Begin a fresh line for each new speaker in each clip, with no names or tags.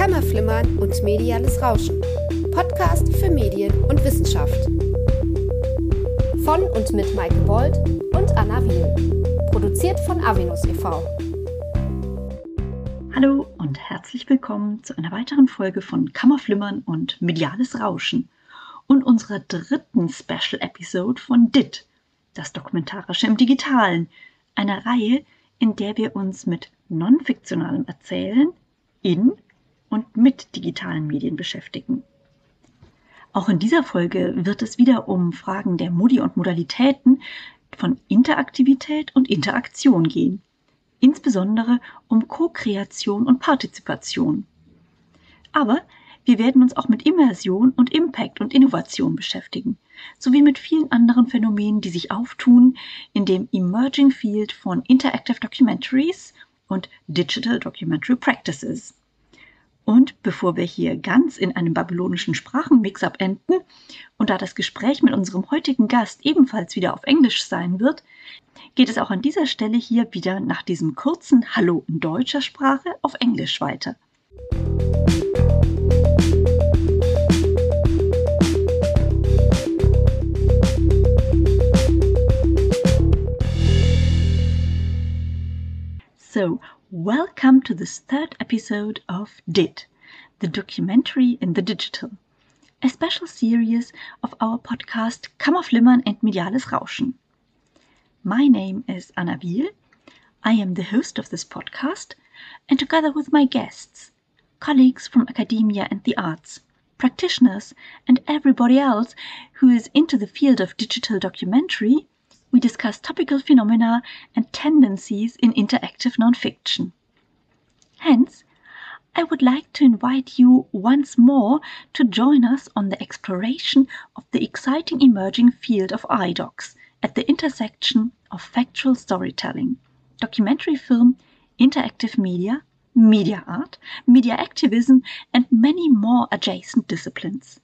Kammerflimmern und mediales Rauschen. Podcast für Medien und Wissenschaft. Von und mit Maike Bold und Anna Wiel. Produziert von Avinus e.V.
Hallo und herzlich willkommen zu einer weiteren Folge von Kammerflimmern und mediales Rauschen und unserer dritten Special Episode von DIT, das Dokumentarische im Digitalen, einer Reihe, in der wir uns mit non-fiktionalem Erzählen in und mit digitalen Medien beschäftigen. Auch in dieser Folge wird es wieder um Fragen der Modi und Modalitäten von Interaktivität und Interaktion gehen, insbesondere um Co-Kreation und Partizipation. Aber wir werden uns auch mit Immersion und Impact und Innovation beschäftigen, sowie mit vielen anderen Phänomenen, die sich auftun in dem Emerging Field von Interactive Documentaries und Digital Documentary Practices. Und bevor wir hier ganz in einem babylonischen Sprachenmix-up enden und da das Gespräch mit unserem heutigen Gast ebenfalls wieder auf Englisch sein wird, geht es auch an dieser Stelle hier wieder nach diesem kurzen Hallo in deutscher Sprache auf Englisch weiter. So, welcome to this third episode of DIT, the documentary in the digital, a special series of our podcast Kammerflimmern and mediales Rauschen. My name is Anna Wiel. I am the host of this podcast, and together with my guests, colleagues from academia and the arts, practitioners, and everybody else who is into the field of digital documentary, we discuss topical phenomena and tendencies in interactive nonfiction. Hence, I would like to invite you once more to join us on the exploration of the exciting emerging field of iDocs at the intersection of factual storytelling, documentary film, interactive media, media art, media activism, and many more adjacent disciplines.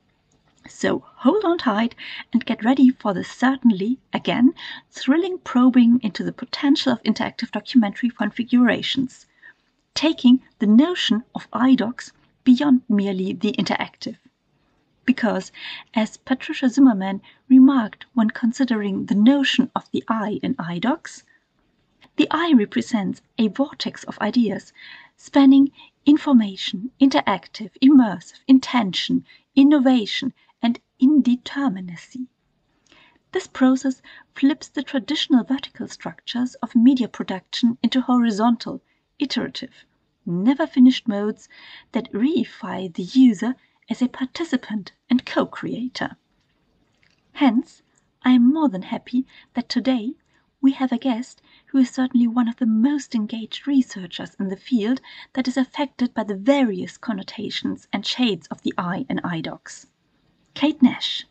So hold on tight and get ready for the certainly, again, thrilling probing into the potential of interactive documentary configurations, taking the notion of iDocs beyond merely the interactive. Because, as Patricia Zimmerman remarked when considering the notion of the I in iDocs, the I represents a vortex of ideas spanning information, interactive, immersive, intention, innovation, and indeterminacy. This process flips the traditional vertical structures of media production into horizontal, iterative, never-finished modes that reify the user as a participant and co-creator. Hence, I am more than happy that today we have a guest who is certainly one of the most engaged researchers in the field that is affected by the various connotations and shades of the I in iDocs. Kate Nash.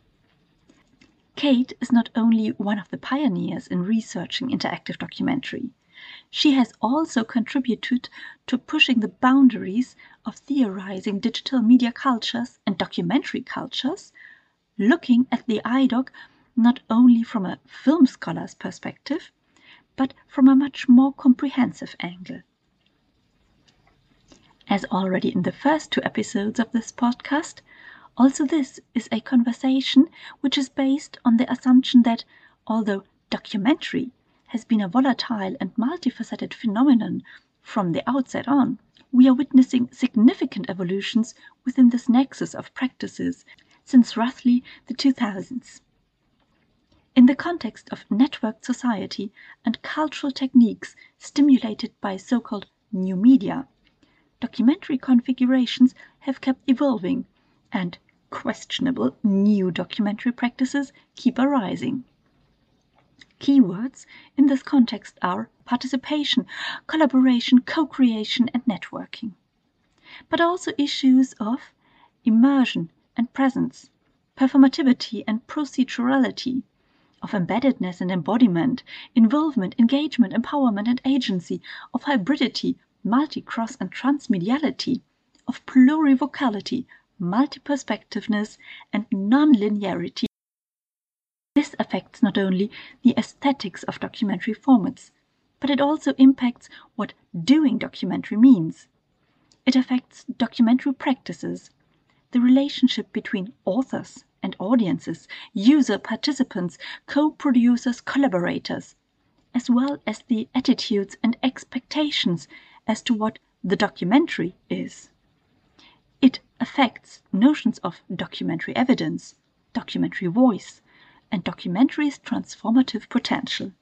Kate is not only one of the pioneers in researching interactive documentary. She has also contributed to pushing the boundaries of theorizing digital media cultures and documentary cultures, looking at the iDoc not only from a film scholar's perspective, but from a much more comprehensive angle. As already in the first two episodes of this podcast, also this is a conversation which is based on the assumption that, although documentary has been a volatile and multifaceted phenomenon from the outset on, we are witnessing significant evolutions within this nexus of practices since roughly the 2000s. In the context of networked society and cultural techniques stimulated by so-called new media, documentary configurations have kept evolving, and questionable new documentary practices keep arising. Keywords in this context are participation, collaboration, co-creation, and networking. But also issues of immersion and presence, performativity and procedurality, of embeddedness and embodiment, involvement, engagement, empowerment, and agency, of hybridity, multi-cross and transmediality, of plurivocality, multi-perspectiveness, and non-linearity. This affects not only the aesthetics of documentary formats, but it also impacts what doing documentary means. It affects documentary practices, the relationship between authors and audiences, user participants, co-producers, collaborators, as well as the attitudes and expectations as to what the documentary is. It affects notions of documentary evidence, documentary voice, and documentary's transformative potential.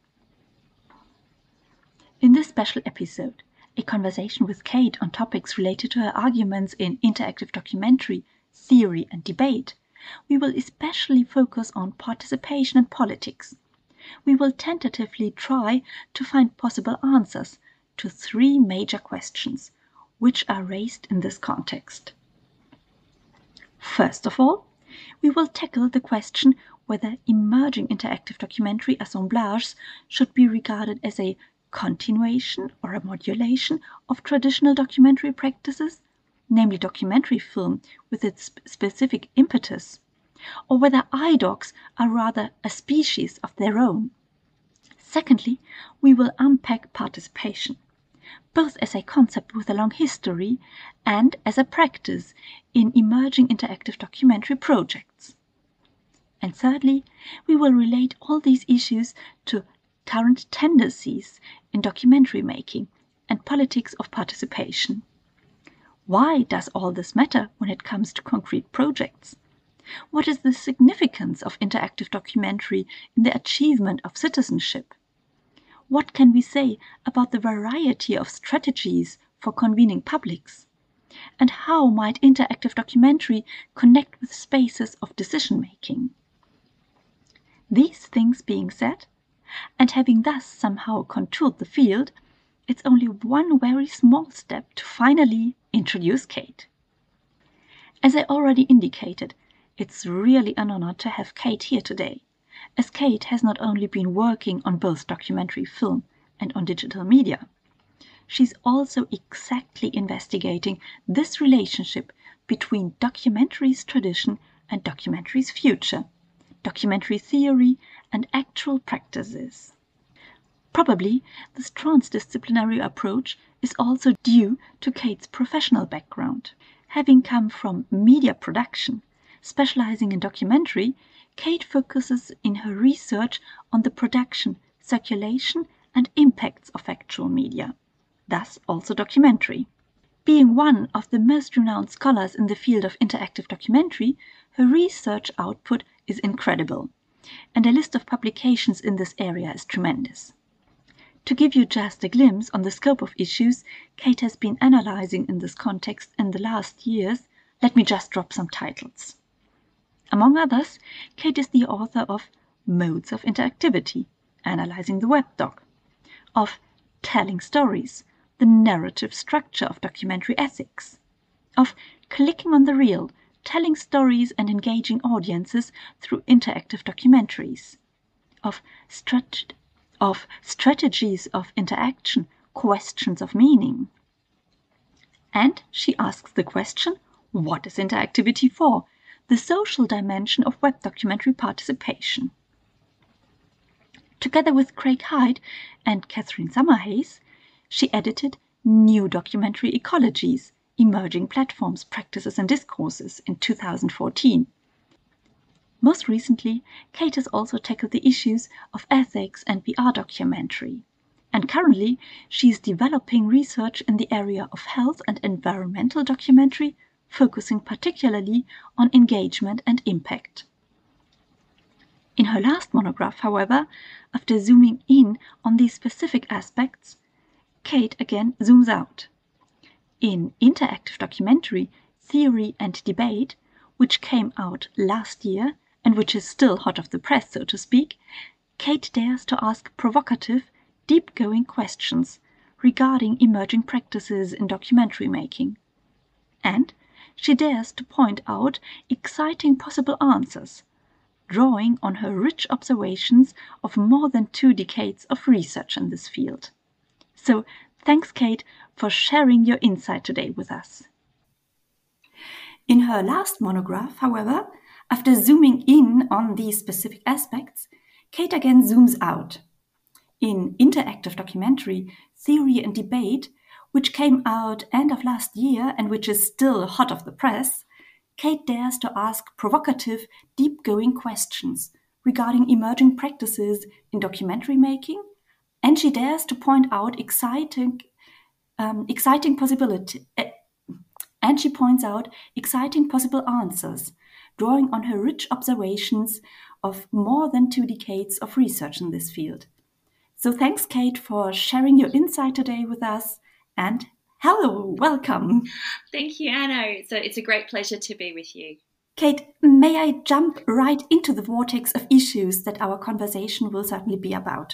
In this special episode, a conversation with Kate on topics related to her arguments in interactive documentary, theory and debate, we will especially focus on participation and politics. We will tentatively try to find possible answers to 3 major questions, which are raised in this context. First of all, we will tackle the question whether emerging interactive documentary assemblages should be regarded as a continuation or a modulation of traditional documentary practices, namely documentary film with its specific impetus, or whether iDocs are rather a species of their own. Secondly, we will unpack participation, both as a concept with a long history and as a practice in emerging interactive documentary projects. And thirdly, we will relate all these issues to current tendencies in documentary making and politics of participation. Why does all this matter when it comes to concrete projects? What is the significance of interactive documentary in the achievement of citizenship? What can we say about the variety of strategies for convening publics? And how might interactive documentary connect with spaces of decision-making? These things being said, and having thus somehow contoured the field, it's only one very small step to finally introduce Kate. As I already indicated, it's really an honor to have Kate here today, as Kate has not only been working on both documentary film and on digital media, she's also exactly investigating this relationship between documentary's tradition and documentary's future, documentary theory and actual practices. Probably this transdisciplinary approach is also due to Kate's professional background. Having come from media production, specializing in documentary, Kate focuses in her research on the production, circulation and impacts of actual media, thus also documentary. Being one of the most renowned scholars in the field of interactive documentary, her research output is incredible, and a list of publications in this area is tremendous. To give you just a glimpse on the scope of issues Kate has been analyzing in this context in the last years, let me just drop some titles. Among others, Kate is the author of Modes of Interactivity, Analyzing the Web Doc, of Telling Stories, the Narrative Structure of Documentary Ethics, of Clicking on the Reel, Telling Stories and Engaging Audiences through Interactive Documentaries, of Strategies of Interaction, Questions of Meaning. And she asks the question, what is interactivity for? The social dimension of web documentary participation. Together with Craig Hyde and Catherine Summerhays, she edited New Documentary Ecologies, Emerging Platforms, Practices and Discourses in 2014. Most recently, Kate has also tackled the issues of ethics and VR documentary. And currently, she is developing research in the area of health and environmental documentary, focusing particularly on engagement and impact. In her last monograph, however, after zooming in on these specific aspects, Kate again zooms out. In Interactive Documentary, Theory and Debate, which came out last year and which is still hot off the press, so to speak, Kate dares to ask provocative, deep-going questions regarding emerging practices in documentary making. And she dares to point out exciting possible answers, drawing on her rich observations of more than 2 decades of research in this field. So, thanks, Kate, for sharing your insight today with us. In her last monograph, however, after zooming in on these specific aspects, Kate again zooms out. In Interactive Documentary, Theory and Debate, which came out end of last year and which is still hot off the press, Kate dares to ask provocative, deep-going questions regarding emerging practices in documentary making, and she dares to point out exciting possible answers, drawing on her rich observations of more than 2 decades of research in this field. So thanks, Kate, for sharing your insight today with us, and hello, welcome.
Thank you, Anna. It's a great pleasure to be with you.
Kate, may I jump right into the vortex of issues that our conversation will certainly be about?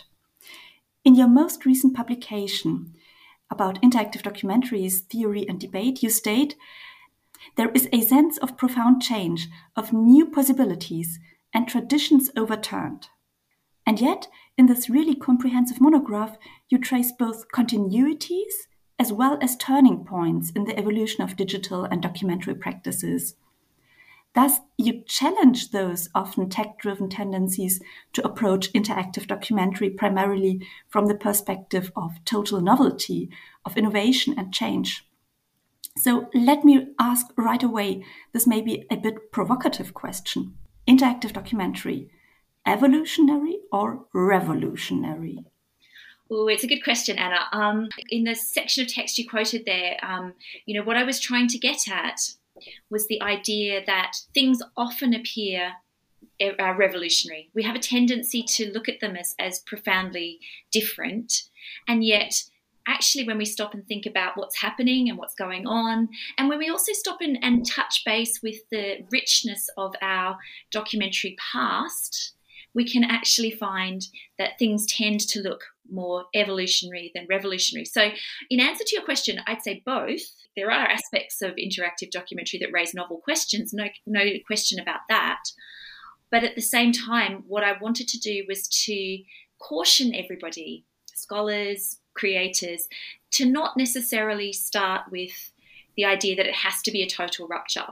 In your most recent publication about interactive documentaries, theory and debate, you state, there is a sense of profound change, of new possibilities and traditions overturned. And yet, in this really comprehensive monograph, you trace both continuities as well as turning points in the evolution of digital and documentary practices. Thus, you challenge those often tech-driven tendencies to approach interactive documentary primarily from the perspective of total novelty, of innovation and change. So let me ask right away, this may be a bit provocative question. Interactive documentary, evolutionary or revolutionary?
Oh, it's a good question, Anna. In the section of text you quoted there, what I was trying to get at was the idea that things often appear revolutionary. We have a tendency to look at them as profoundly different, and yet actually when we stop and think about what's happening and what's going on, and when we also stop and touch base with the richness of our documentary past, we can actually find that things tend to look more evolutionary than revolutionary. So in answer to your question, I'd say both. There are aspects of interactive documentary that raise novel questions, no question about that. But at the same time, what I wanted to do was to caution everybody, scholars, creators, to not necessarily start with the idea that it has to be a total rupture.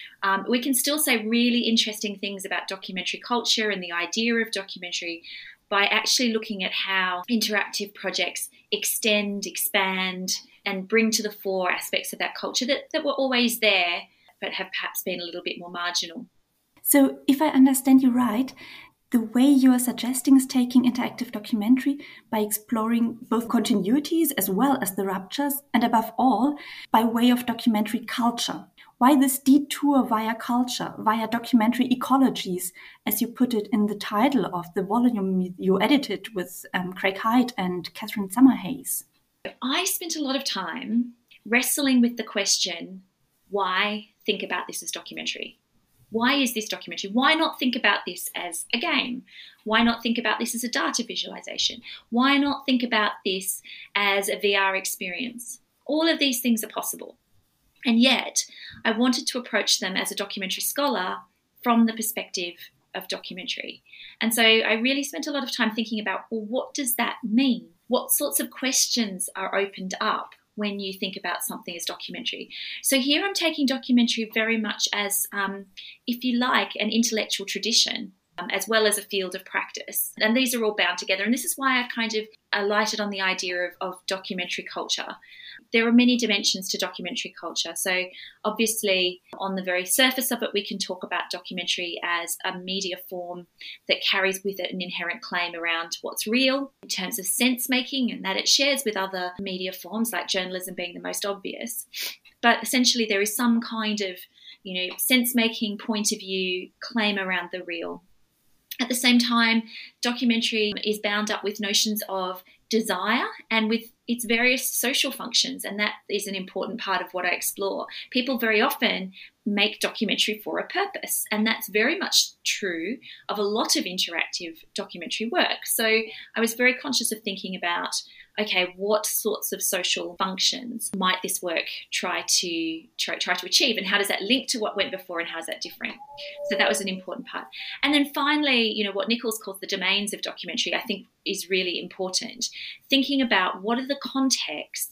We can still say really interesting things about documentary culture and the idea of documentary by actually looking at how interactive projects extend, expand, and bring to the fore aspects of that culture that were always there, but have perhaps been a little bit more marginal.
So if I understand you right, the way you are suggesting is taking interactive documentary by exploring both continuities as well as the ruptures, and above all, by way of documentary culture. Why this detour via culture, via documentary ecologies, as you put it in the title of the volume you edited with Craig Hyde and Catherine Summerhayes?
I spent a lot of time wrestling with the question, why think about this as documentary? Why is this documentary? Why not think about this as a game? Why not think about this as a data visualization? Why not think about this as a VR experience? All of these things are possible. And yet, I wanted to approach them as a documentary scholar from the perspective of documentary. And so I really spent a lot of time thinking about, well, what does that mean? What sorts of questions are opened up when you think about something as documentary? So here I'm taking documentary very much as, if you like, an intellectual tradition, as well as a field of practice. And these are all bound together. And this is why I kind of alighted on the idea of documentary culture. There are many dimensions to documentary culture. So obviously, on the very surface of it, we can talk about documentary as a media form that carries with it an inherent claim around what's real in terms of sense making, and that it shares with other media forms like journalism being the most obvious. But essentially, there is some kind of, sense making point of view claim around the real. At the same time, documentary is bound up with notions of desire and with its various social functions, and that is an important part of what I explore. People very often make documentary for a purpose, and that's very much true of a lot of interactive documentary work. So I was very conscious of thinking about, okay, what sorts of social functions might this work try to achieve, and how does that link to what went before, and how is that different? So that was an important part. And then finally, what Nichols calls the domains of documentary, I think is really important. Thinking about what are the contexts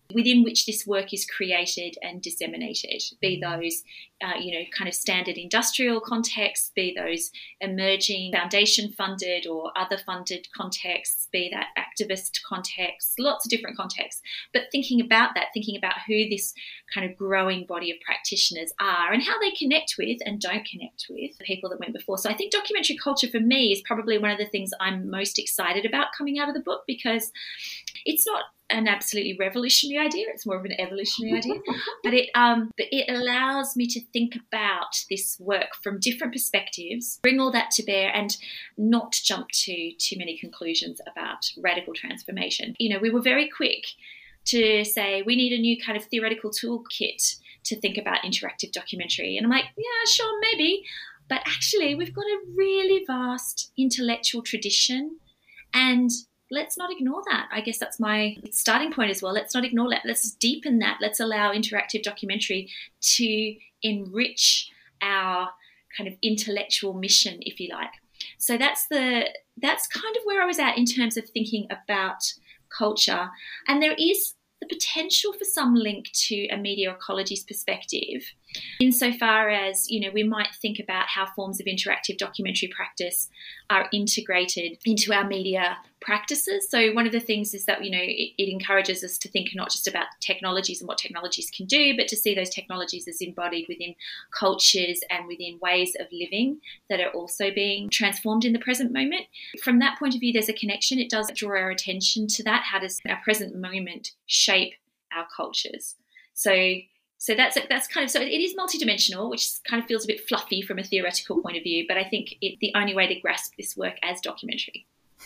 within which this work is created and disseminated, be those, kind of standard industrial contexts, be those emerging foundation-funded or other-funded contexts, be that activist context, lots of different contexts. But thinking about who this kind of growing body of practitioners are and how they connect with and don't connect with the people that went before. So I think documentary culture for me is probably one of the things I'm most excited about coming out of the book, because it's not an absolutely revolutionary idea. It's more of an evolutionary idea. But it allows me to think about this work from different perspectives, bring all that to bear, and not jump to too many conclusions about radical transformation. We were very quick to say we need a new kind of theoretical toolkit to think about interactive documentary. And I'm like, yeah, sure, maybe. But actually, we've got a really vast intellectual tradition, and let's not ignore that. I guess that's my starting point as well. Let's not ignore that. Let's deepen that. Let's allow interactive documentary to enrich our kind of intellectual mission, if you like. So that's kind of where I was at in terms of thinking about culture. And there is the potential for some link to a media ecology's perspective, insofar as, we might think about how forms of interactive documentary practice are integrated into our media practices. So one of the things is that, it encourages us to think not just about technologies and what technologies can do, but to see those technologies as embodied within cultures and within ways of living that are also being transformed in the present moment. From that point of view, there's a connection. It does draw our attention to that. How does our present moment shape our cultures? So that's kind of, so it is multidimensional, which kind of feels a bit fluffy from a theoretical point of view, but I think the only way to grasp this work as documentary.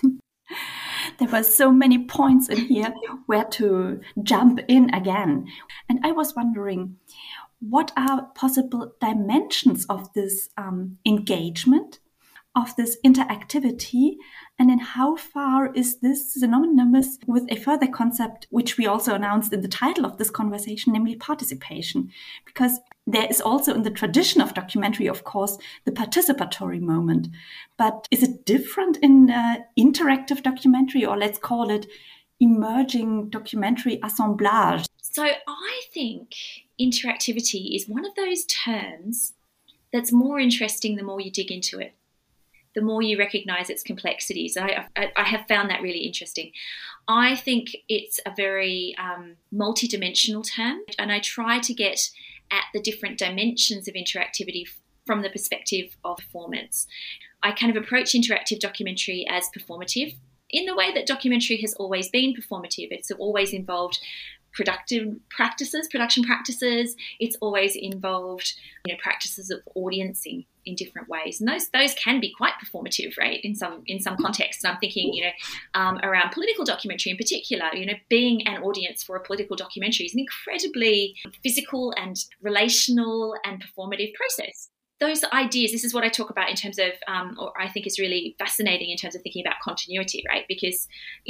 There were so many points in here where to jump in again. And I was wondering, what are possible dimensions of this engagement, of this interactivity, and then how far is this synonymous with a further concept which we also announced in the title of this conversation, namely participation? Because there is also in the tradition of documentary, of course, the participatory moment. But is it different in interactive documentary, or let's call it emerging documentary assemblage?
So I think interactivity is one of those terms that's more interesting the more you dig into it, the more you recognise its complexities. I have found that really interesting. I think it's a very multidimensional term, and I try to get at the different dimensions of interactivity from the perspective of performance. I kind of approach interactive documentary as performative in the way that documentary has always been performative. It's always involved production practices. It's always involved, practices of audiencing in different ways, and those can be quite performative, right? In some contexts. And I'm thinking, around political documentary in particular. Being an audience for a political documentary is an incredibly physical and relational and performative process. Those ideas, this is what I talk about in terms of, or I think is really fascinating in terms of thinking about continuity, right? Because,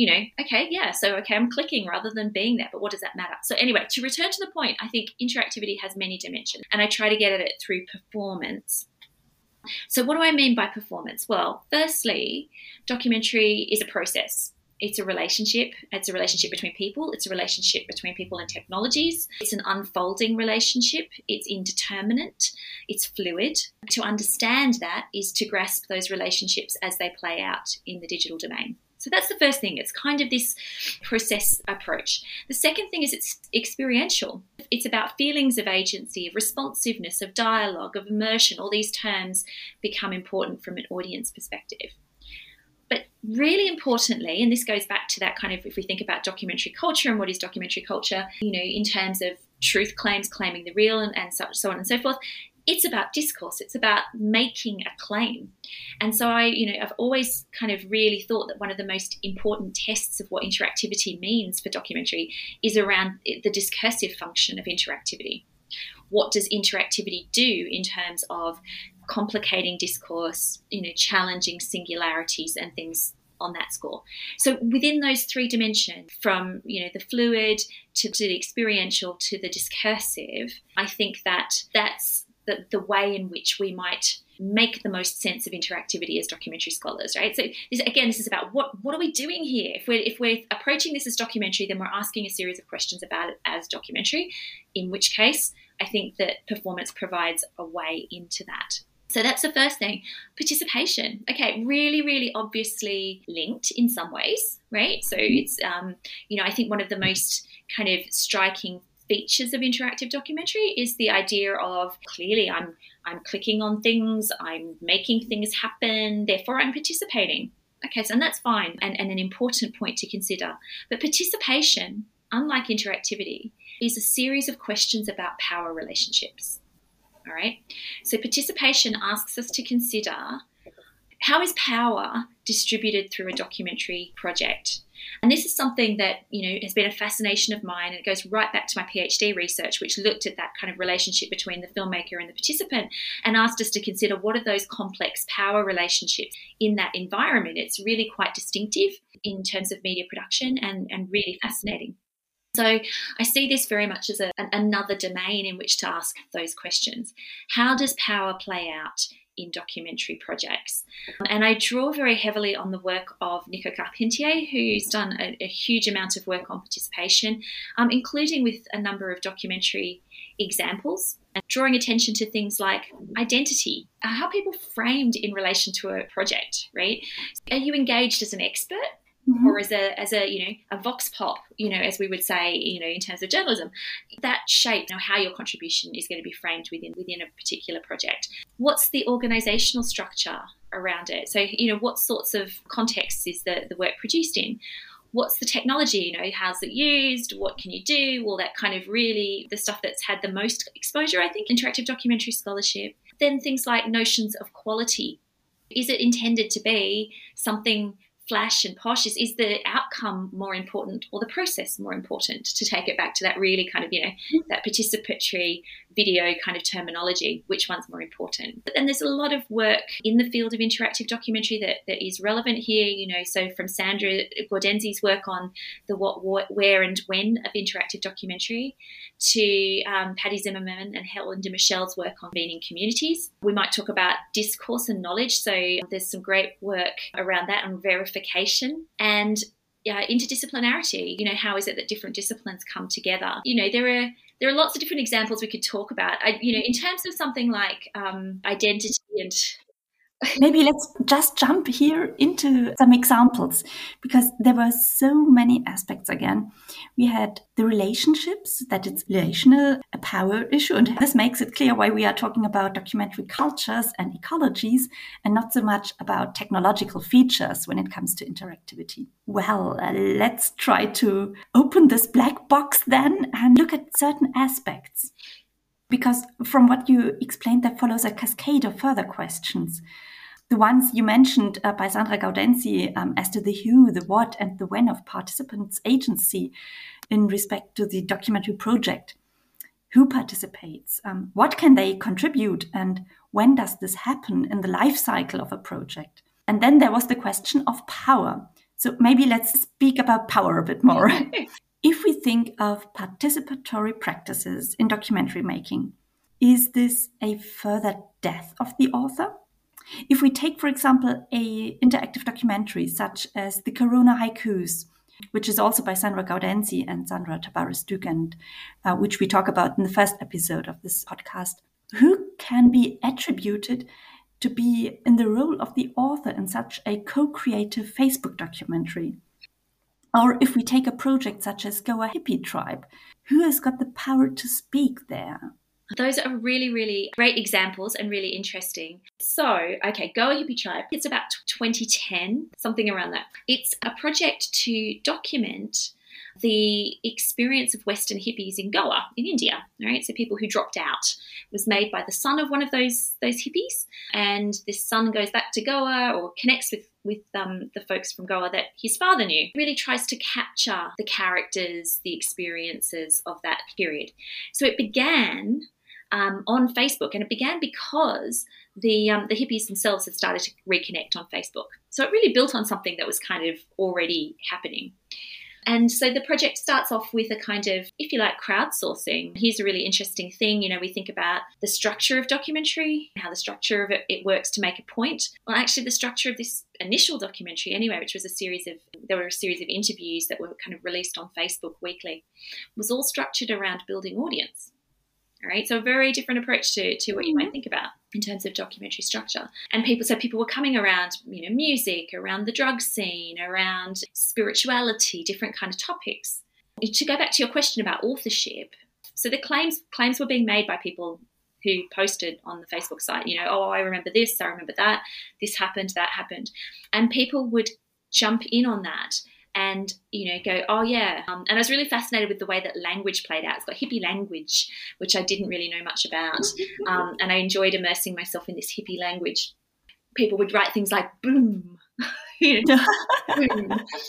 I'm clicking rather than being there, but what does that matter? So anyway, to return to the point, I think interactivity has many dimensions, and I try to get at it through performance. So what do I mean by performance? Well, firstly, documentary is a process. It's a relationship. It's a relationship between people. It's a relationship between people and technologies. It's an unfolding relationship. It's indeterminate. It's fluid. To understand that is to grasp those relationships as they play out in the digital domain. So that's the first thing. It's kind of this process approach. The second thing is it's experiential. It's about feelings of agency, of responsiveness, of dialogue, of immersion. All these terms become important from an audience perspective. But really importantly, and this goes back to that kind of, if we think about documentary culture and what is documentary culture, in terms of truth claims, claiming the real and so on and so forth, it's about discourse. It's about making a claim. And so I've always kind of really thought that one of the most important tests of what interactivity means for documentary is around the discursive function of interactivity. What does interactivity do in terms of complicating discourse, challenging singularities and things on that score? So within those three dimensions, from the fluid to the experiential to the discursive, I think that's the way in which we might make the most sense of interactivity as documentary scholars, right? So this is about what are we doing here? If we're approaching this as documentary, then we're asking a series of questions about it as documentary, in which case I think that performance provides a way into that. So that's the first thing. Participation. Okay, really, really obviously linked in some ways, right? So it's, I think one of the most kind of striking features of interactive documentary is the idea of clearly I'm clicking on things, I'm making things happen, therefore I'm participating. Okay, so and that's fine and an important point to consider. But participation, unlike interactivity, is a series of questions about power relationships. All right. So participation asks us to consider, how is power distributed through a documentary project? And this is something that, has been a fascination of mine, and it goes right back to my PhD research, which looked at that kind of relationship between the filmmaker and the participant and asked us to consider what are those complex power relationships in that environment. It's really quite distinctive in terms of media production and really fascinating. So I see this very much as another domain in which to ask those questions. How does power play out in documentary projects? And I draw very heavily on the work of Nico Carpentier, who's done a huge amount of work on participation, including with a number of documentary examples, and drawing attention to things like identity, how people framed in relation to a project, right? Are you engaged as an expert? Mm-hmm. Or as a vox pop, as we would say, in terms of journalism, that shape, how your contribution is going to be framed within a particular project. What's the organisational structure around it? So, what sorts of contexts is the work produced in? What's the technology? How's it used? What can you do? All that kind of really the stuff that's had the most exposure, I think, interactive documentary scholarship. Then things like notions of quality. Is it intended to be something flash and posh? Is the outcome more important or the process more important, to take it back to that really kind of, that participatory video kind of terminology, which one's more important? But then there's a lot of work in the field of interactive documentary that is relevant here, so from Sandra Gaudenzi's work on the what, where and when of interactive documentary to Patty Zimmerman and Helen de Michel's work on being in communities. We might talk about discourse and knowledge. So there's some great work around that on verification and interdisciplinarity. How is it that different disciplines come together? There are lots of different examples we could talk about. In terms of something like identity and
maybe let's just jump here into some examples, because there were so many aspects again. We had the relationships, that it's relational, a power issue, and this makes it clear why we are talking about documentary cultures and ecologies and not so much about technological features when it comes to interactivity. Well, let's try to open this black box then and look at certain aspects. Because from what you explained, there follows a cascade of further questions. The ones you mentioned by Sandra Gaudenzi as to the who, the what, and the when of participants' agency in respect to the documentary project. Who participates? What can they contribute? And when does this happen in the life cycle of a project? And then there was the question of power. So maybe let's speak about power a bit more. If we think of participatory practices in documentary making, is this a further death of the author? If we take, for example, a interactive documentary such as the Corona Haikus, which is also by Sandra Gaudenzi and Sandra Tavares-Dugent, which we talk about in the first episode of this podcast, who can be attributed to be in the role of the author in such a co-creative Facebook documentary? Or if we take a project such as Goa Hippie Tribe, who has got the power to speak there?
Those are really, really great examples and really interesting. So, okay, Goa Hippie Tribe, it's about 2010, something around that. It's a project to document the experience of Western hippies in Goa, in India, right? So people who dropped out. It was made by the son of one of those hippies, and this son goes back to Goa or connects with the folks from Goa that his father knew. Really tries to capture the characters, the experiences of that period. So it began on Facebook, and it began because the hippies themselves had started to reconnect on Facebook. So it really built on something that was kind of already happening. And so the project starts off with a kind of, if you like, crowdsourcing. Here's a really interesting thing. We think about the structure of documentary, how the structure of it works to make a point. Well, actually, the structure of this initial documentary anyway, which was a series of interviews that were kind of released on Facebook weekly, was all structured around building audience. All right, so a very different approach to what you might think about in terms of documentary structure. And people were coming around, music, around the drug scene, around spirituality, different kind of topics. To go back to your question about authorship, so the claims were being made by people who posted on the Facebook site, I remember this, I remember that, this happened, that happened. And people would jump in on that and, go, oh, yeah. And I was really fascinated with the way that language played out. It's got hippie language, which I didn't really know much about. And I enjoyed immersing myself in this hippie language. People would write things like boom, boom,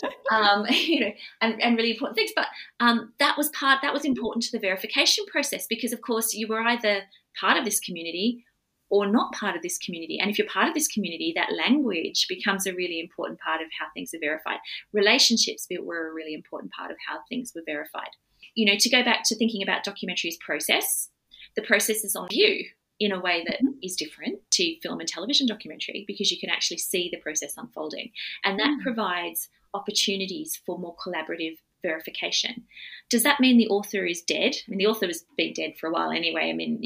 and really important things. But that was important to the verification process because, of course, you were either part of this community or not part of this community. And if you're part of this community, that language becomes a really important part of how things are verified. Relationships were a really important part of how things were verified. To go back to thinking about documentary as process, the process is on view in a way that is different to film and television documentary because you can actually see the process unfolding. And that provides opportunities for more collaborative verification. Does that mean the author is dead? I mean, the author has been dead for a while anyway. I mean,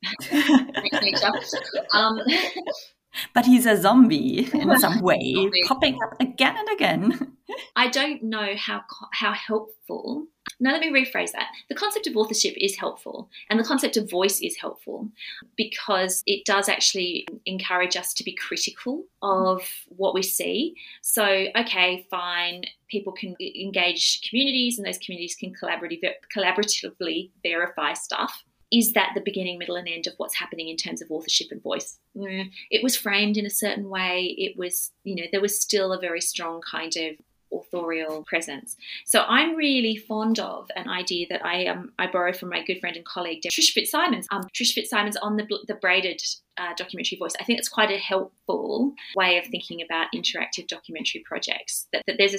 But he's a zombie in some way, popping up again and again.
I don't know how helpful. Now, let me rephrase that. The concept of authorship is helpful and the concept of voice is helpful because it does actually encourage us to be critical of what we see. So, okay, fine, people can engage communities and those communities can collaboratively verify stuff. Is that the beginning, middle, and end of what's happening in terms of authorship and voice? It was framed in a certain way. It was, there was still a very strong kind of authorial presence. So I'm really fond of an idea that I borrow from my good friend and colleague Trish Fitzsimons. Trish Fitzsimons on the braided documentary voice. I think it's quite a helpful way of thinking about interactive documentary projects. That there's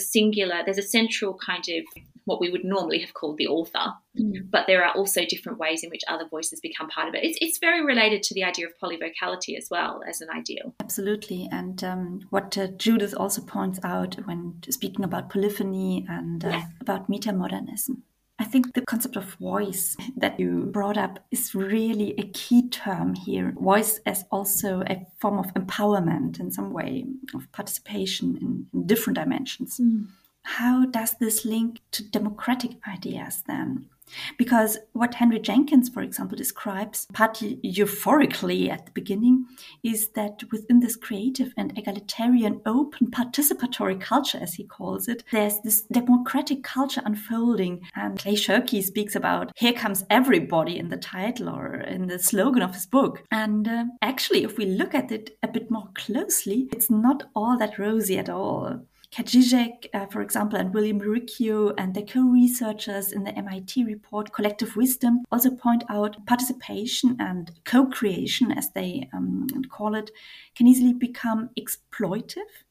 a central kind of what we would normally have called the author, but there are also different ways in which other voices become part of it. It's very related to the idea of polyvocality as well as an ideal.
Absolutely. And what Judith also points out when speaking about polyphony and about metamodernism. I think the concept of voice that you brought up is really a key term here. Voice as also a form of empowerment in some way, of participation in different dimensions. How does this link to democratic ideas then? Because what Henry Jenkins, for example, describes partly euphorically at the beginning is that within this creative and egalitarian, open, participatory culture, as he calls it, there's this democratic culture unfolding. And Clay Shirky speaks about "Here comes everybody" in the title or in the slogan of his book. And actually, if we look at it a bit more closely, it's not all that rosy at all. Kat Žižek, for example, and William Riccio and the co-researchers in the MIT report Collective Wisdom also point out participation and co-creation, as they call it, can easily become exploitive.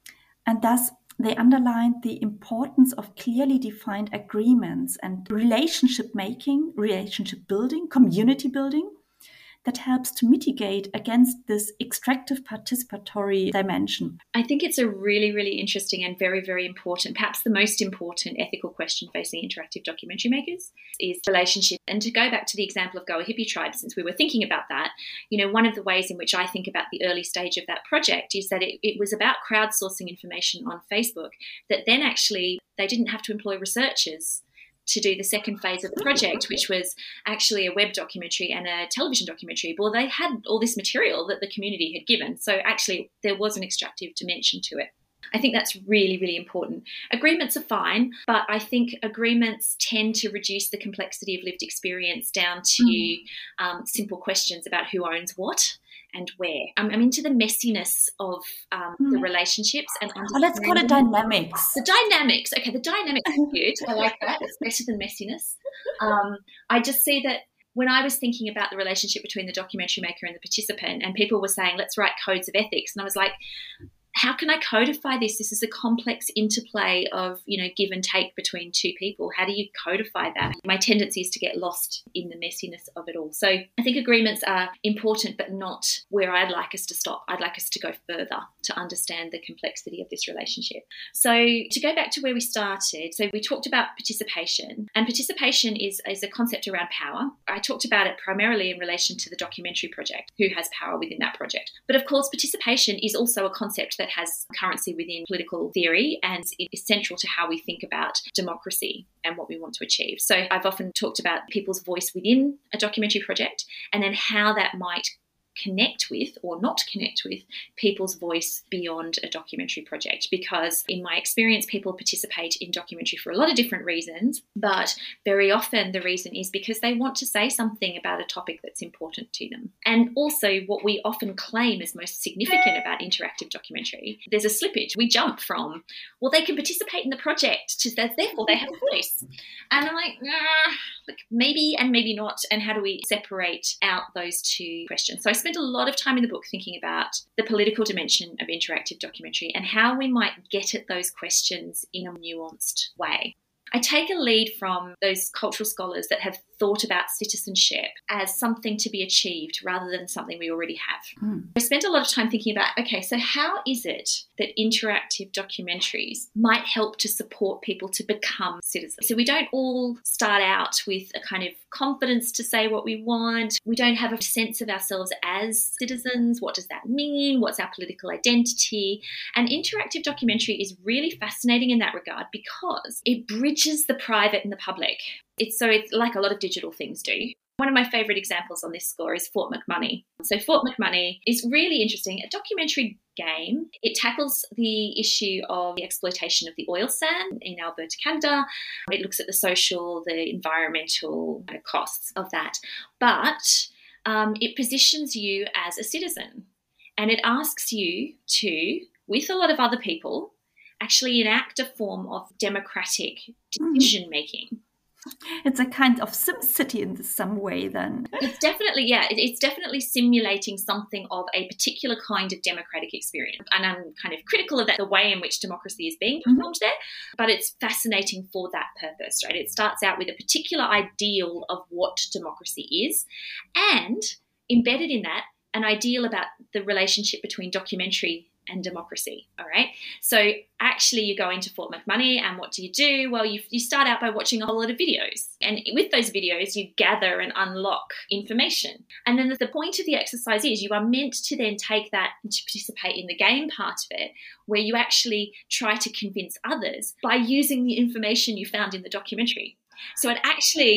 And thus, they underline the importance of clearly defined agreements and relationship making, relationship building, community building, that helps to mitigate against this extractive participatory dimension.
I think it's a really, really interesting and very, very important, perhaps the most important ethical question facing interactive documentary makers is relationship. And to go back to the example of Goa Hippie Tribe, since we were thinking about that, one of the ways in which I think about the early stage of that project is that it was about crowdsourcing information on Facebook that then actually they didn't have to employ researchers to do the second phase of the project, which was actually a web documentary and a television documentary. Well, they had all this material that the community had given. So actually there was an extractive dimension to it. I think that's really, really important. Agreements are fine, but I think agreements tend to reduce the complexity of lived experience down to simple questions about who owns what and where. I'm into the messiness of the relationships. And
let's call it dynamics.
The dynamics. Okay, the dynamics is good. I like that. It's better than messiness. I just see that when I was thinking about the relationship between the documentary maker and the participant, and people were saying, let's write codes of ethics. And I was like, how can I codify this? This is a complex interplay of, give and take between two people. How do you codify that? My tendency is to get lost in the messiness of it all. So I think agreements are important, but not where I'd like us to stop. I'd like us to go further to understand the complexity of this relationship. So to go back to where we started, so we talked about participation, and participation is a concept around power. I talked about it primarily in relation to the documentary project, who has power within that project. But of course, participation is also a concept that has currency within political theory and is central to how we think about democracy and what we want to achieve. So I've often talked about people's voice within a documentary project and then how that might connect with or not connect with people's voice beyond a documentary project, because in my experience people participate in documentary for a lot of different reasons, but very often the reason is because they want to say something about a topic that's important to them. And also what we often claim is most significant about interactive documentary, there's a slippage. We jump from, well, they can participate in the project to therefore they have a voice. And I'm like, maybe and maybe not. And how do we separate out those two questions? So I spent a lot of time in the book thinking about the political dimension of interactive documentary and how we might get at those questions in a nuanced way. I take a lead from those cultural scholars that have thought about citizenship as something to be achieved rather than something we already have. I spent a lot of time thinking about, okay, so how is it that interactive documentaries might help to support people to become citizens? So we don't all start out with a kind of confidence to say what we want. We don't have a sense of ourselves as citizens. What does that mean? What's our political identity? And interactive documentary is really fascinating in that regard because it bridges the private and the public. It's like a lot of digital things do. One of my favourite examples on this score is Fort McMoney. So Fort McMoney is really interesting. A documentary game. It tackles the issue of the exploitation of the oil sand in Alberta, Canada. It looks at the social, the environmental costs of that. But it positions you as a citizen. And it asks you to, with a lot of other people, actually enact a form of democratic decision-making.
It's a kind of SimCity in some way then.
It's definitely simulating something of a particular kind of democratic experience. And I'm kind of critical of that, the way in which democracy is being performed there, but it's fascinating for that purpose, right? It starts out with a particular ideal of what democracy is, and embedded in that, an ideal about the relationship between documentary and democracy, all right? So actually you go into Fort McMoney and what do? Well, you start out by watching a whole lot of videos. And with those videos, you gather and unlock information. And then the point of the exercise is you are meant to then take that and to participate in the game part of it, where you actually try to convince others by using the information you found in the documentary. So it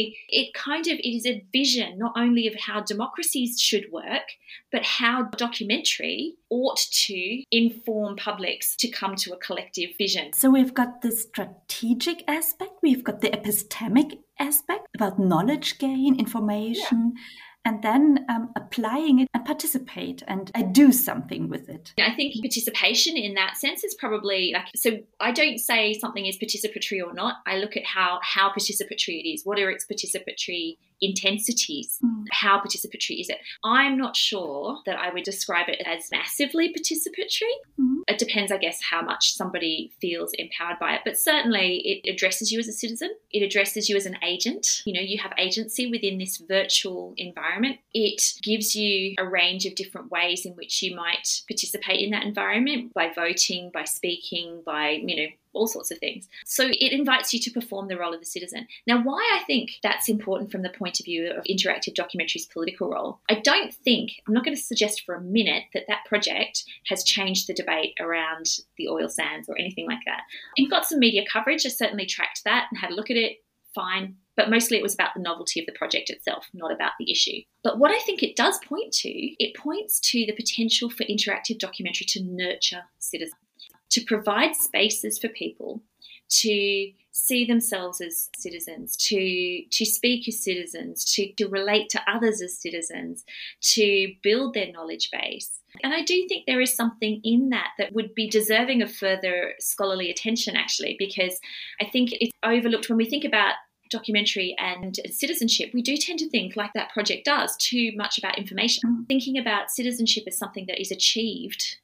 is a vision not only of how democracies should work, but how documentary ought to inform publics to come to a collective vision.
So we've got the strategic aspect, we've got the epistemic aspect about knowledge gain, information, and then applying it and participate and do something with it.
I think participation in that sense is probably so I don't say something is participatory or not. I look at how participatory it is. What are its participatory intensities? How participatory is it? I'm not sure that I would describe it as massively participatory. It depends, I guess, how much somebody feels empowered by it. But certainly it addresses you as a citizen. It addresses you as an agent. You have agency within this virtual environment. It gives you a range of different ways in which you might participate in that environment, by voting, by speaking, by, all sorts of things. So it invites you to perform the role of the citizen. Now, why I think that's important from the point of view of interactive documentary's political role, I'm not going to suggest for a minute that project has changed the debate around the oil sands or anything like that. You've got some media coverage. I certainly tracked that and had a look at it. Fine. But mostly it was about the novelty of the project itself, not about the issue. But what I think it does point to, it points to the potential for interactive documentary to nurture citizens, to provide spaces for people to see themselves as citizens, to speak as citizens, to relate to others as citizens, to build their knowledge base. And I do think there is something in that would be deserving of further scholarly attention, actually, because I think it's overlooked when we think about documentary and citizenship. We do tend to think, like that project does, too much about information. Thinking about citizenship as something that is achieved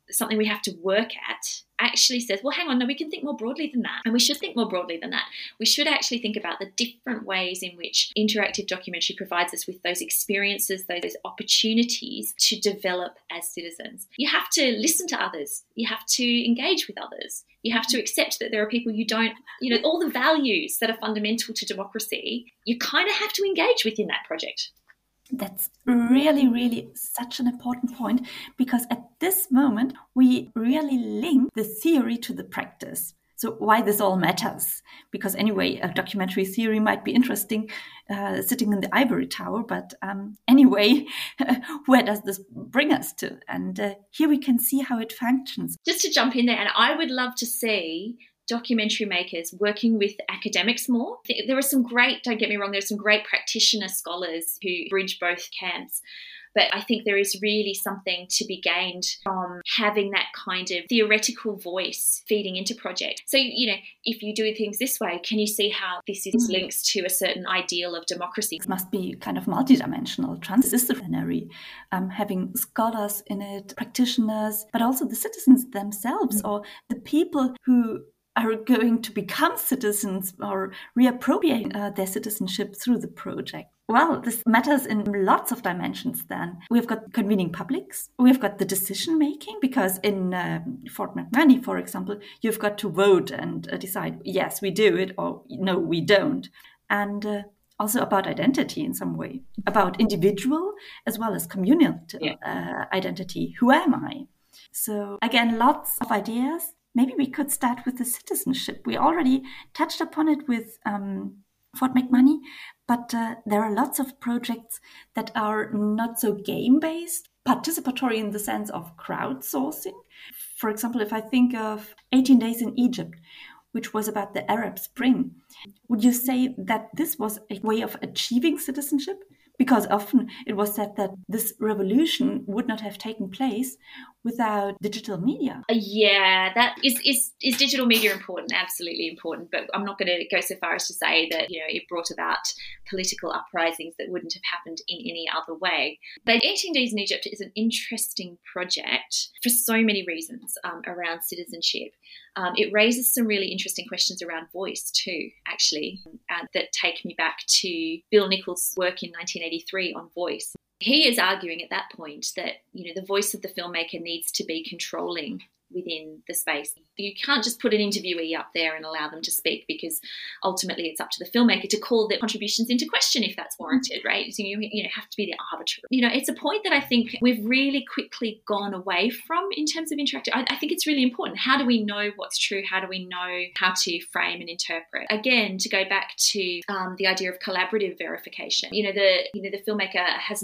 something we have to work at, actually says, well, hang on, no, we can think more broadly than that. And we should think more broadly than that. We should actually think about the different ways in which interactive documentary provides us with those experiences, those opportunities to develop as citizens. You have to listen to others. You have to engage with others. You have to accept that there are people you don't, all the values that are fundamental to democracy, you kind of have to engage with in that project.
That's really, really such an important point, because at this moment, we really link the theory to the practice. So why this all matters? Because anyway, a documentary theory might be interesting sitting in the ivory tower, but anyway, where does this bring us to? And here we can see how it functions.
Just to jump in there, and I would love to see documentary makers working with academics more. There are some great, don't get me wrong, there are some great practitioner scholars who bridge both camps. But I think there is really something to be gained from having that kind of theoretical voice feeding into projects. So, if you do things this way, can you see how this is linked to a certain ideal of democracy?
It must be kind of multidimensional, transdisciplinary, having scholars in it, practitioners, but also the citizens themselves or the people who are going to become citizens or reappropriate their citizenship through the project. Well, this matters in lots of dimensions then. We've got convening publics. We've got the decision making, because in Fort McMurray, for example, you've got to vote and decide, yes, we do it, or no, we don't. And also about identity in some way, about individual as well as communal identity. Who am I? So again, lots of ideas. Maybe we could start with the citizenship. We already touched upon it with Fort McMurray, but there are lots of projects that are not so game-based, participatory in the sense of crowdsourcing. For example, if I think of 18 Days in Egypt, which was about the Arab Spring, would you say that this was a way of achieving citizenship? Because often it was said that this revolution would not have taken place without digital media.
Yeah, that is digital media important? Absolutely important. But I'm not going to go so far as to say that it brought about political uprisings that wouldn't have happened in any other way. But 18 Days in Egypt is an interesting project for so many reasons around citizenship. It raises some really interesting questions around voice too, actually, that take me back to Bill Nichols' work in 1983 on voice. He is arguing at that point that, the voice of the filmmaker needs to be controlling within the space. You can't just put an interviewee up there and allow them to speak, because ultimately it's up to the filmmaker to call their contributions into question if that's warranted, right? So you have to be the arbiter. It's a point that I think we've really quickly gone away from in terms of interactive. I think it's really important. How do we know what's true? How do we know how to frame and interpret? Again, to go back to the idea of collaborative verification. The filmmaker has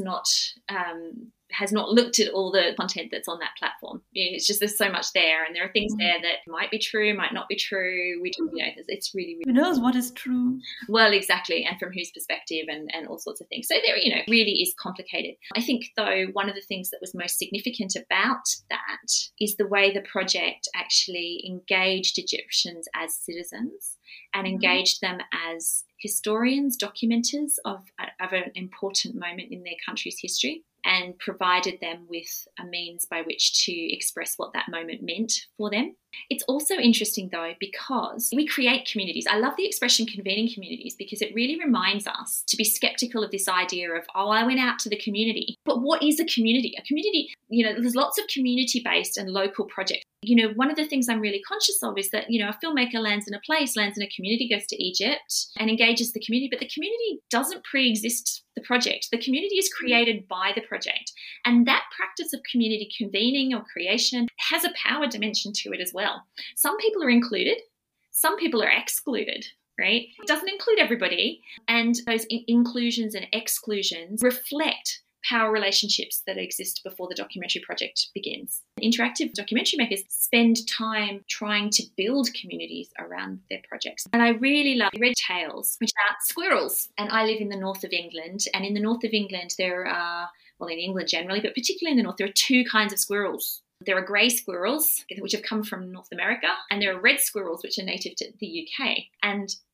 not looked at all the content that's on that platform. It's just there's so much there, and there are things there that might be true, might not be true. It's really,
who knows what is true?
Well, exactly, and from whose perspective, and all sorts of things. So there, really is complicated. I think, though, one of the things that was most significant about that is the way the project actually engaged Egyptians as citizens and engaged them as historians, documenters of an important moment in their country's history, and provided them with a means by which to express what that moment meant for them. It's also interesting, though, because we create communities. I love the expression convening communities, because it really reminds us to be skeptical of this idea of, I went out to the community. But what is a community? A community, there's lots of community-based and local projects. One of the things I'm really conscious of is that, a filmmaker lands in a place, lands in a community, goes to Egypt and engages the community, but the community doesn't pre-exist the project. The community is created by the project. And that practice of community convening or creation has a power dimension to it as well. Some people are included, some people are excluded, right? It doesn't include everybody. And those inclusions and exclusions reflect power relationships that exist before the documentary project begins. Interactive documentary makers spend time trying to build communities around their projects. And I really love Red Tails, which are squirrels. And I live in the north of England. And in the north of England, there are, in England generally, but particularly in the north, there are two kinds of squirrels. There are grey squirrels, which have come from North America, and there are red squirrels, which are native to the UK. And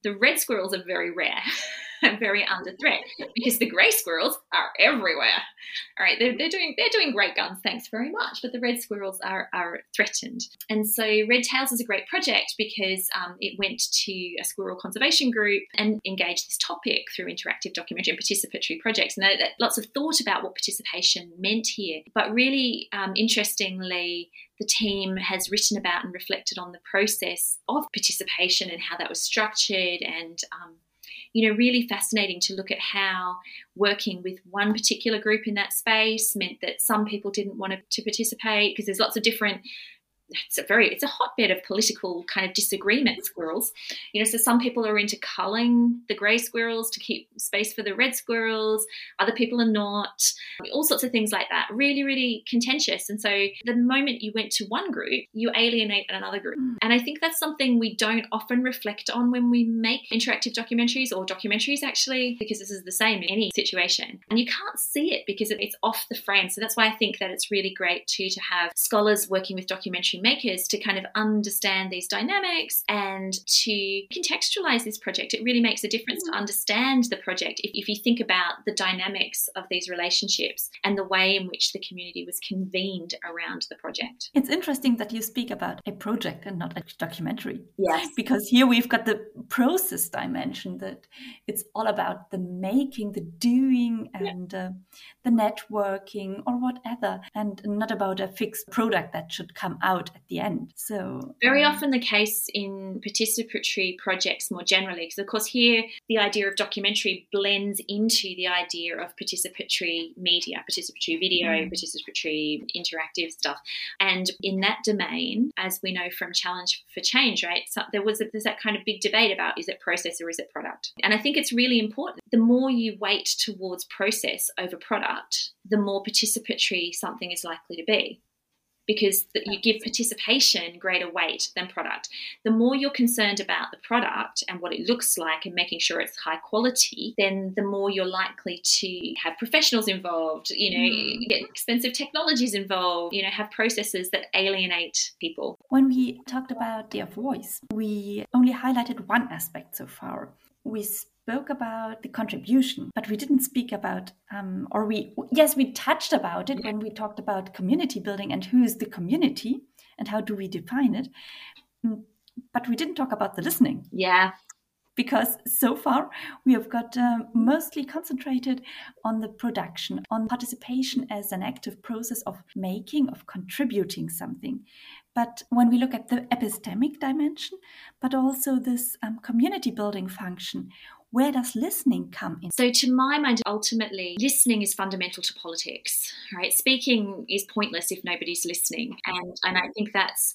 The red squirrels are very rare and very under threat because the grey squirrels are everywhere. All right, they're doing great guns, thanks very much, but the red squirrels are threatened. And so Red Tails is a great project because it went to a squirrel conservation group and engaged this topic through interactive documentary and participatory projects. And lots of thought about what participation meant here. But really interestingly, the team has written about and reflected on the process of participation and how that was structured, and really fascinating to look at how working with one particular group in that space meant that some people didn't want to participate because there's lots of different. It's a hotbed of political kind of disagreement, squirrels. So some people are into culling the grey squirrels to keep space for the red squirrels. Other people are not. All sorts of things like that. Really, really contentious. And so the moment you went to one group, you alienate another group. And I think that's something we don't often reflect on when we make interactive documentaries, or documentaries actually, because this is the same in any situation. And you can't see it because it's off the frame. So that's why I think that it's really great to have scholars working with documentary makers to kind of understand these dynamics and to contextualize this project. It really makes a difference to understand the project if you think about the dynamics of these relationships and the way in which the community was convened around the project.
It's interesting that you speak about a project and not a documentary.
Yes.
Because here we've got the process dimension, that it's all about the making, the doing, and the networking or whatever, and not about a fixed product that should come out at the end. So
very often the case in participatory projects more generally, because of course here the idea of documentary blends into the idea of participatory media, participatory video, participatory interactive stuff. And in that domain, as we know from Challenge for Change, right, so there's that kind of big debate about, is it process or is it product? And I think it's really important. The more you weight towards process over product, the more participatory something is likely to be, because you give participation greater weight than product. The more you're concerned about the product and what it looks like and making sure it's high quality, then the more you're likely to have professionals involved, get expensive technologies involved, have processes that alienate people.
When we talked about their voice, we only highlighted one aspect so far. We spoke about the contribution, but we didn't speak about, we touched about it when we talked about community building and who is the community and how do we define it. But we didn't talk about the listening.
Yeah.
Because so far we have got mostly concentrated on the production, on participation as an active process of making, of contributing something. But when we look at the epistemic dimension, but also this community building function, where does listening come in?
So to my mind, ultimately, listening is fundamental to politics, right? Speaking is pointless if nobody's listening. And I think that's,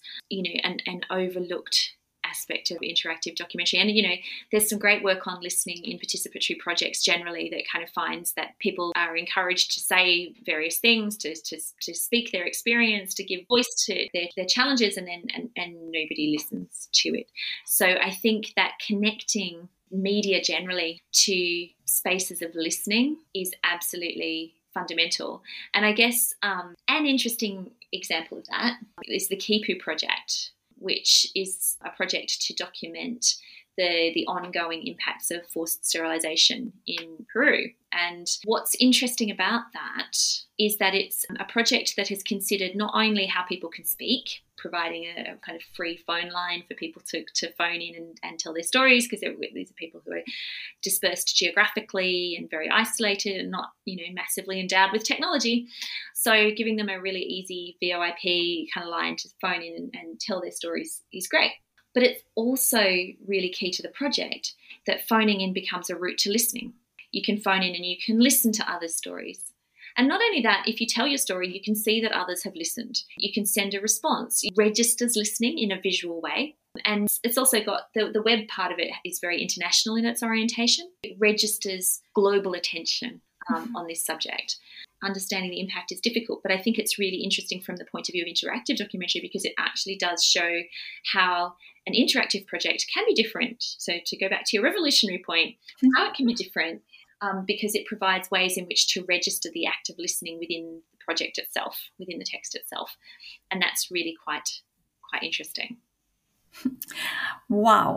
an overlooked aspect of interactive documentary. And, there's some great work on listening in participatory projects generally that kind of finds that people are encouraged to say various things, to speak their experience, to give voice to their challenges, and nobody listens to it. So I think that connecting media generally to spaces of listening is absolutely fundamental. And I guess an interesting example of that is the Kipu project, which is a project to document the ongoing impacts of forced sterilisation in Peru. And what's interesting about that is that it's a project that has considered not only how people can speak, providing a kind of free phone line for people to phone in and tell their stories, because these are people who are dispersed geographically and very isolated and not, massively endowed with technology. So giving them a really easy VoIP kind of line to phone in and tell their stories is great. But it's also really key to the project that phoning in becomes a route to listening. You can phone in and you can listen to others' stories. And not only that, if you tell your story, you can see that others have listened. You can send a response. It registers listening in a visual way. And it's also got the web part of it is very international in its orientation. It registers global attention on this subject. Understanding the impact is difficult, but I think it's really interesting from the point of view of interactive documentary, because it actually does show how an interactive project can be different. So to go back to your revolutionary point, how it can be different, because it provides ways in which to register the act of listening within the project itself, within the text itself. And that's really quite interesting.
Wow.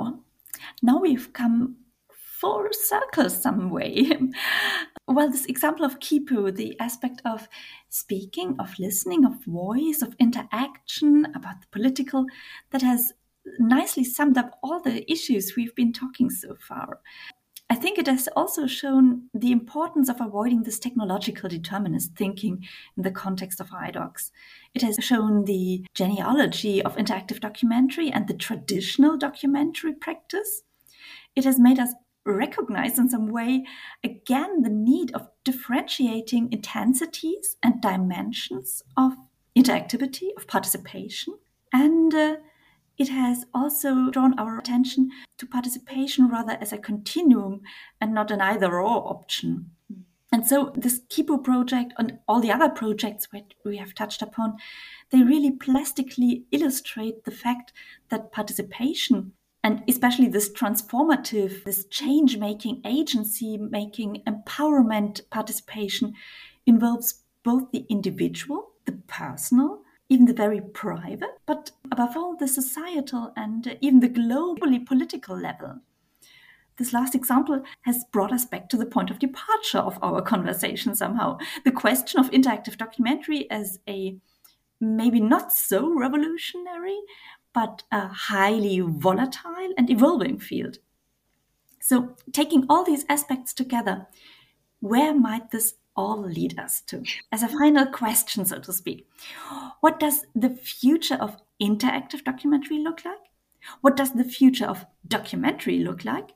Now we've come full circle some way. Well, this example of Kipu, the aspect of speaking, of listening, of voice, of interaction, about the political, that has nicely summed up all the issues we've been talking so far. I think it has also shown the importance of avoiding this technological determinist thinking in the context of iDocs. It has shown the genealogy of interactive documentary and the traditional documentary practice. It has made us recognize in some way, again, the need of differentiating intensities and dimensions of interactivity, of participation. And it has also drawn our attention to participation rather as a continuum and not an either-or option. And so this Kipu project and all the other projects that we have touched upon, they really plastically illustrate the fact that participation, and especially this transformative, this change-making, agency-making, empowerment participation, involves both the individual, the personal, even the very private, but above all, the societal and even the globally political level. This last example has brought us back to the point of departure of our conversation somehow. The question of interactive documentary as a maybe not so revolutionary, but a highly volatile and evolving field. So taking all these aspects together, where might this all lead us to? As a final question, so to speak, what does the future of interactive documentary look like? What does the future of documentary look like?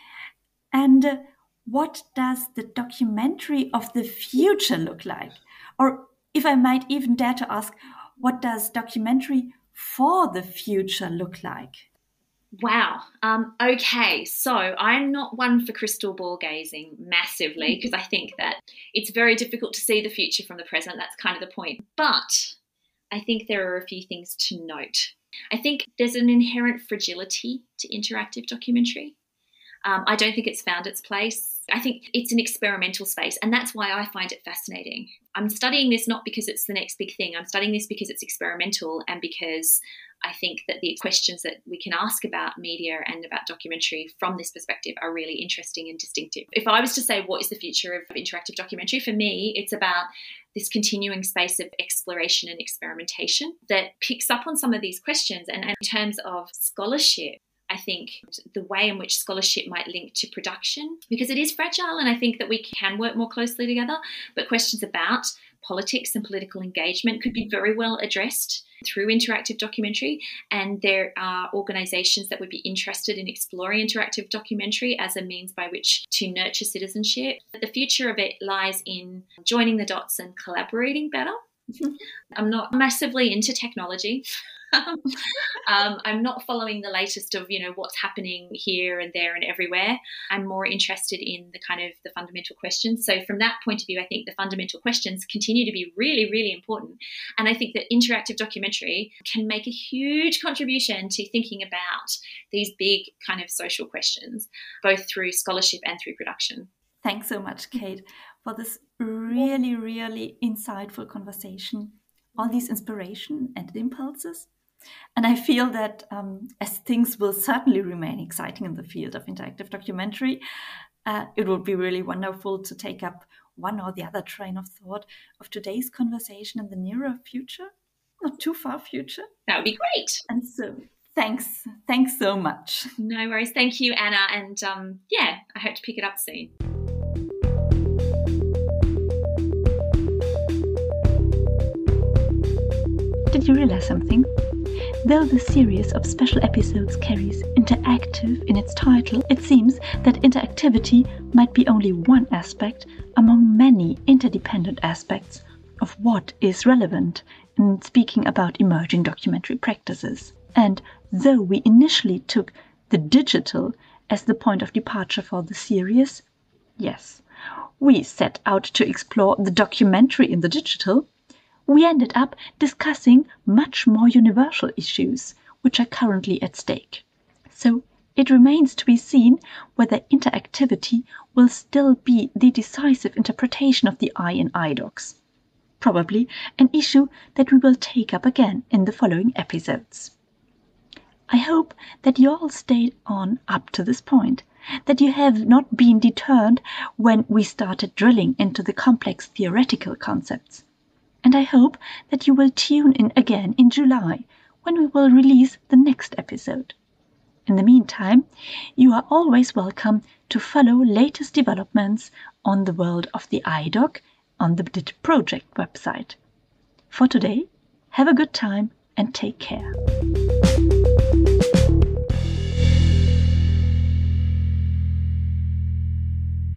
And what does the documentary of the future look like? Or if I might even dare to ask, what does documentary for the future look like?
Wow. Okay, so I'm not one for crystal ball gazing massively because I think that it's very difficult to see the future from the present. That's kind of the point. But I think there are a few things to note. I think there's an inherent fragility to interactive documentary. I don't think it's found its place. I think it's an experimental space, and that's why I find it fascinating. I'm studying this not because it's the next big thing. I'm studying this because it's experimental and because I think that the questions that we can ask about media and about documentary from this perspective are really interesting and distinctive. If I was to say what is the future of interactive documentary, for me, it's about this continuing space of exploration and experimentation that picks up on some of these questions. And in terms of scholarship, I think the way in which scholarship might link to production, because it is fragile, and I think that we can work more closely together, but questions about politics and political engagement could be very well addressed through interactive documentary, and there are organisations that would be interested in exploring interactive documentary as a means by which to nurture citizenship. The future of it lies in joining the dots and collaborating better. I'm not massively into technology. I'm not following the latest of, what's happening here and there and everywhere. I'm more interested in the kind of the fundamental questions. So from that point of view, I think the fundamental questions continue to be really, really important. And I think that interactive documentary can make a huge contribution to thinking about these big kind of social questions, both through scholarship and through production.
Thanks so much, Kate, for this really, really insightful conversation, all these inspiration and impulses. And I feel that as things will certainly remain exciting in the field of interactive documentary, it would be really wonderful to take up one or the other train of thought of today's conversation in the nearer future, not too far future.
That would be great.
And so thanks so much.
No worries. Thank you, Anna. And I hope to pick it up soon.
Did you realize something? Though the series of special episodes carries interactive in its title, it seems that interactivity might be only one aspect among many interdependent aspects of what is relevant in speaking about emerging documentary practices. And though we initially took the digital as the point of departure for the series, yes, we set out to explore the documentary in the digital, we ended up discussing much more universal issues which are currently at stake. So it remains to be seen whether interactivity will still be the decisive interpretation of the I in iDocs. Probably an issue that we will take up again in the following episodes. I hope that you all stayed on up to this point, that you have not been deterred when we started drilling into the complex theoretical concepts. And I hope that you will tune in again in July, when we will release the next episode. In the meantime, you are always welcome to follow latest developments on the world of the iDoc on the DIT Project website. For today, have a good time and take care.